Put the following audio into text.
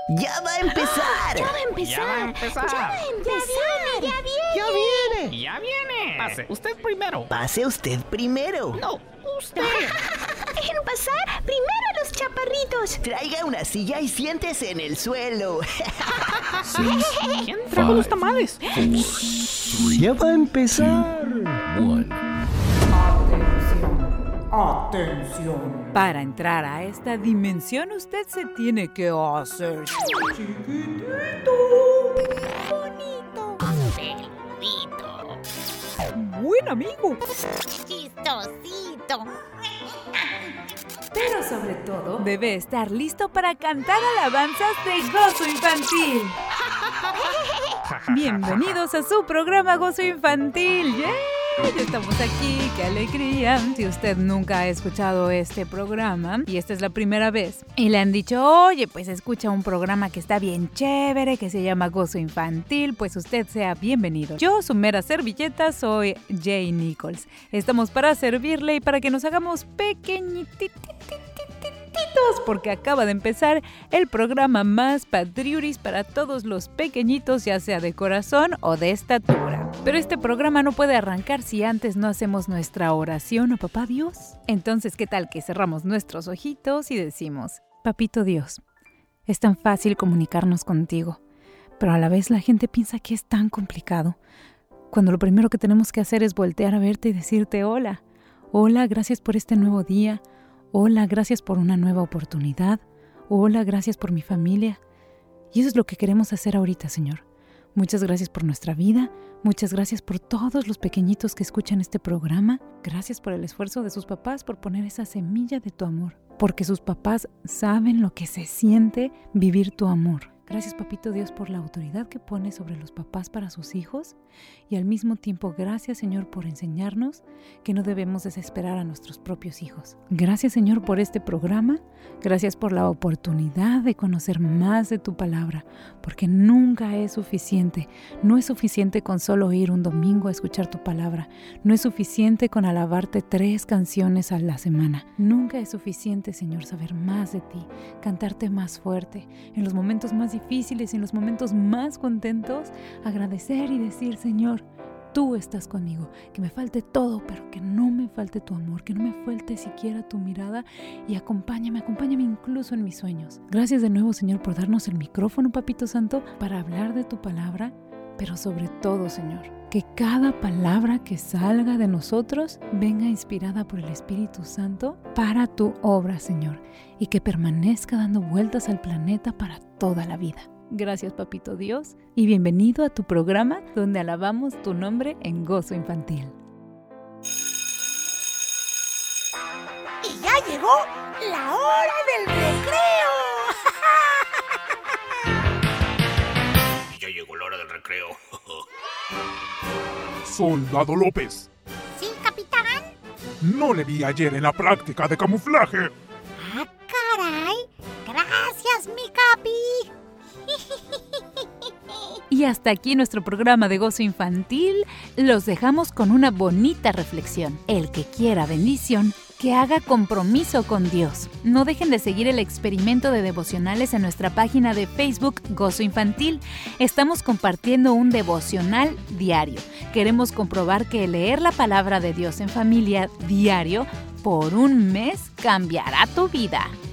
¡Ya va a empezar! ¡Ya va a empezar! ¡Ya viene! ¡Ya viene! Pase, usted primero. Pase usted primero. No, usted. ¡Dejen pasar! ¡Primero a los chaparritos! Traiga una silla y siéntese en el suelo. ¿Quién trajo los tamales? Ya va a empezar. Atención. Para entrar a esta dimensión usted se tiene que hacer chiquitito, bonito, peludito, buen amigo, chistosito. pero sobre todo debe estar listo para cantar alabanzas de gozo infantil. Bienvenidos a su programa Gozo Infantil. ¡Yeah! Ya estamos aquí, qué alegría. Si usted nunca ha escuchado este programa y esta es la primera vez y le han dicho, oye, pues escucha un programa que está bien chévere, que se llama Gozo Infantil, pues usted sea bienvenido. Yo, su mera servilleta, soy Jay Nichols. Estamos para servirle y para que nos hagamos pequeñititos, porque acaba de empezar el programa más patriuris para todos los pequeñitos, ya sea de corazón o de estatura. Pero este programa no puede arrancar si antes no hacemos nuestra oración a Papá Dios. Entonces, ¿qué tal que cerramos nuestros ojitos y decimos, Papito Dios, es tan fácil comunicarnos contigo, pero a la vez la gente piensa que es tan complicado, cuando lo primero que tenemos que hacer es voltear a verte y decirte hola. Hola, gracias por este nuevo día. Hola, gracias por una nueva oportunidad. Hola, gracias por mi familia. Y eso es lo que queremos hacer ahorita, Señor. Muchas gracias por nuestra vida. Muchas gracias por todos los pequeñitos que escuchan este programa. Gracias por el esfuerzo de sus papás por poner esa semilla de tu amor. Porque sus papás saben lo que se siente vivir tu amor. Gracias, Papito Dios, por la autoridad que pones sobre los papás para sus hijos y al mismo tiempo gracias, Señor, por enseñarnos que no debemos desesperar a nuestros propios hijos. Gracias, Señor, por este programa. Gracias por la oportunidad de conocer más de tu palabra, porque nunca es suficiente. No es suficiente con solo ir un domingo a escuchar tu palabra. No es suficiente con alabarte 3 canciones a la semana. Nunca es suficiente, Señor, saber más de ti, cantarte más fuerte, en los momentos más difíciles y en los momentos más contentos, agradecer y decir, Señor, tú estás conmigo, que me falte todo, pero que no me falte tu amor, que no me falte siquiera tu mirada y acompáñame incluso en mis sueños. Gracias de nuevo, Señor, por darnos el micrófono, Papito Santo, para hablar de tu palabra, pero sobre todo, Señor, que cada palabra que salga de nosotros venga inspirada por el Espíritu Santo para tu obra, Señor, y que permanezca dando vueltas al planeta para toda la vida. Gracias, Papito Dios, y bienvenido a tu programa donde alabamos tu nombre en Gozo Infantil. Y ya llegó la hora del recreo. Ya llegó la hora del recreo. Soldado López, ¿Sí, capitán? no le vi ayer en la práctica de camuflaje. ¡Ah, caray! ¡Gracias, mi capi! Y hasta aquí nuestro programa de Gozo Infantil. Los dejamos con una bonita reflexión. El que quiera bendición, que haga compromiso con Dios. No dejen de seguir el experimento de devocionales en nuestra página de Facebook Gozo Infantil. Estamos compartiendo un devocional diario. Queremos comprobar que leer la palabra de Dios en familia diario por un mes cambiará tu vida.